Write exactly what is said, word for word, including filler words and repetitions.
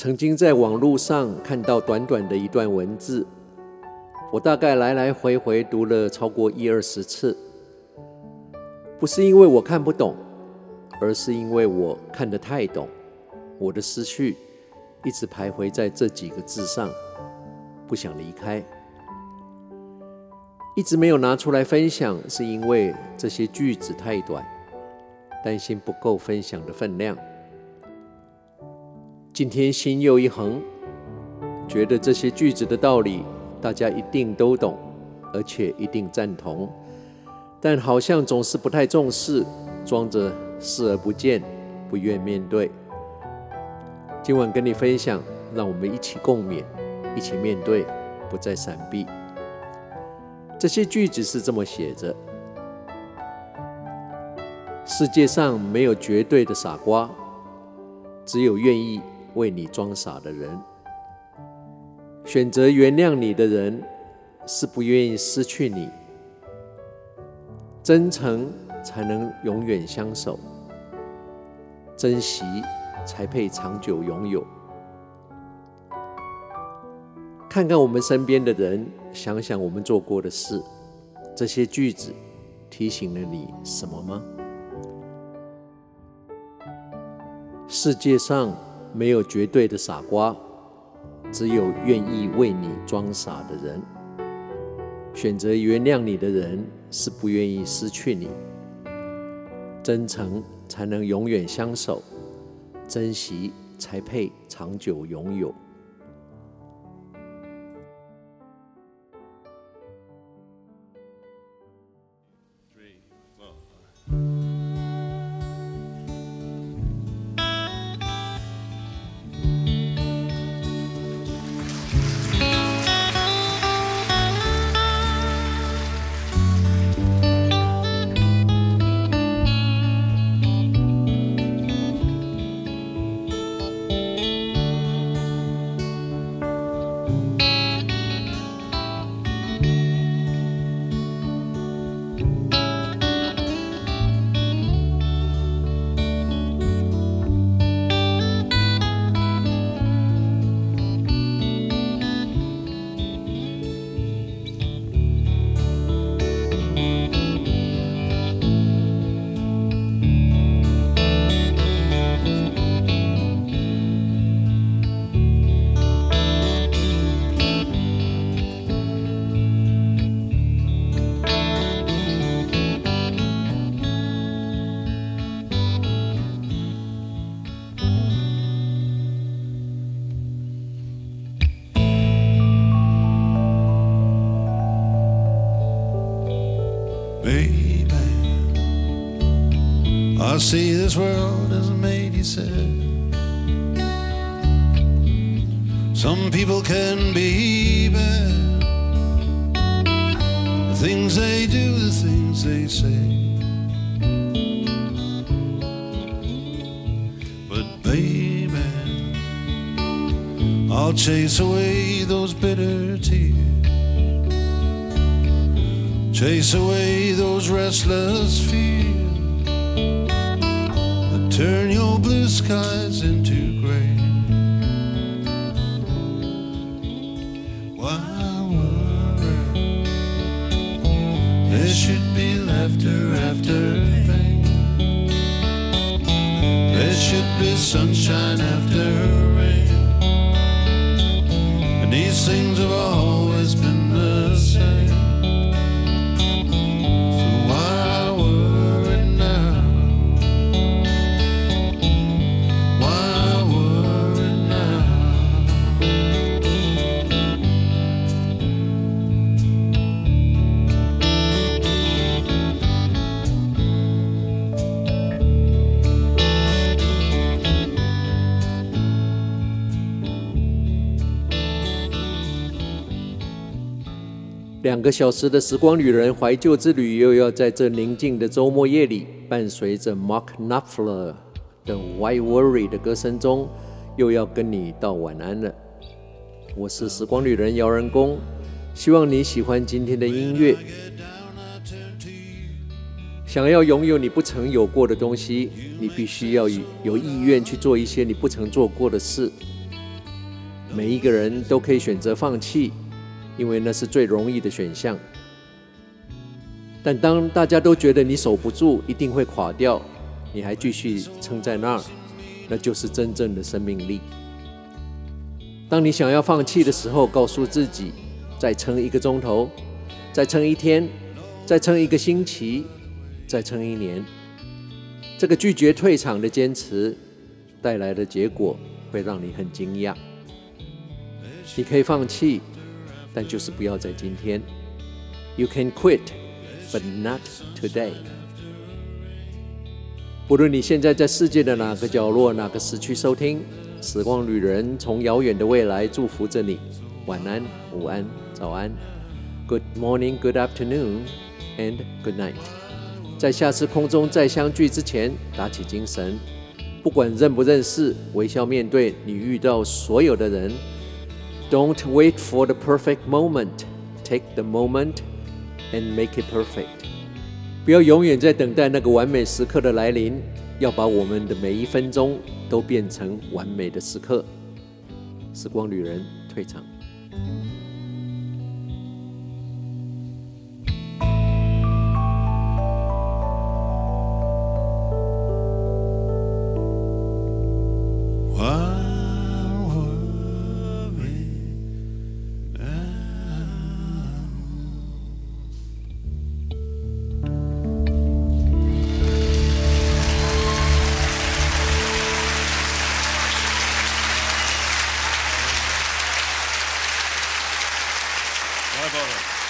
曾經在網絡上看到短短的一段文字，我大概來來回回讀了超過一二十次，不是因為我看不懂，而是因為我看得太懂，我的思緒一直徘徊在這幾個字上，不想離開。一直沒有拿出來分享，是因為這些句子太短，擔心不夠分享的分量。今天心又一橫，覺得這些句子的道理大家一定都懂，而且一定贊同，但好像總是不太重視，裝着視而不見，不願面對。今晚跟你分享，讓我們一起共勉，一起面對，不再閃避。這些句子是這麼寫着：世界上沒有絕對的傻瓜，只有願意為你裝傻的人。選擇原諒你的人，是不願意失去你。真誠才能永遠相守，珍惜才配長久擁有。看看我們身邊的人，想想我們做過的事，這些句子提醒了你什麼嗎？世界上沒有絕對的傻瓜，只有願意為你裝傻的人。選擇原諒你的人，是不願意失去你。真誠才能永遠相守，珍惜才配長久擁有。 Baby, I see this world as made, you said. Some people can be bad, the things they do, the things they say. But baby, I'll chase away those bitter tears, chase away those restless fears that turn your blue skies into gray. Why worry? There should be laughter after pain. There should be sunshine after rain. And these things have always been the same. 两個小時的時光旅人懷舊之旅，又要在這寧靜的週末夜裡，伴隨着 Mark Knopfler 的 Why Worry 的歌聲中，又要跟你道晚安了。我是時光旅人姚人工，希望你喜歡今天的音樂。想要擁有你不曾有過的東西，你必須要有意願去做一些你不曾做過的事。 每一個人都可以選擇放棄，因為那是最容易的選項。但當大家都覺得你守不住，一定會垮掉，你還繼續撐在那兒，那就是真正的生命力。當你想要放棄的時候，告訴自己，再撐一個鐘頭，再撐一天，再撐一個星期，再撐一年。這個拒絕退場的堅持帶來的結果會讓你很驚訝。你可以放棄，但就是不要在今天。You can quit, but not today. 不論你現在在世界的哪個角落、哪個時區收聽，時光旅人從遙遠的未來祝福着你。晚安、午安、早安。Good morning, good afternoon, and good night. 在下次空中再相聚之前，打起精神，不管認不認識，微笑面對你遇到所有的人。Don't wait for the perfect moment. Take the moment and make it perfect. 不要永遠在等待那個完美時刻的來臨，要把我們的每一分鐘都變成完美的時刻。時光旅人退場。 来，宝贝。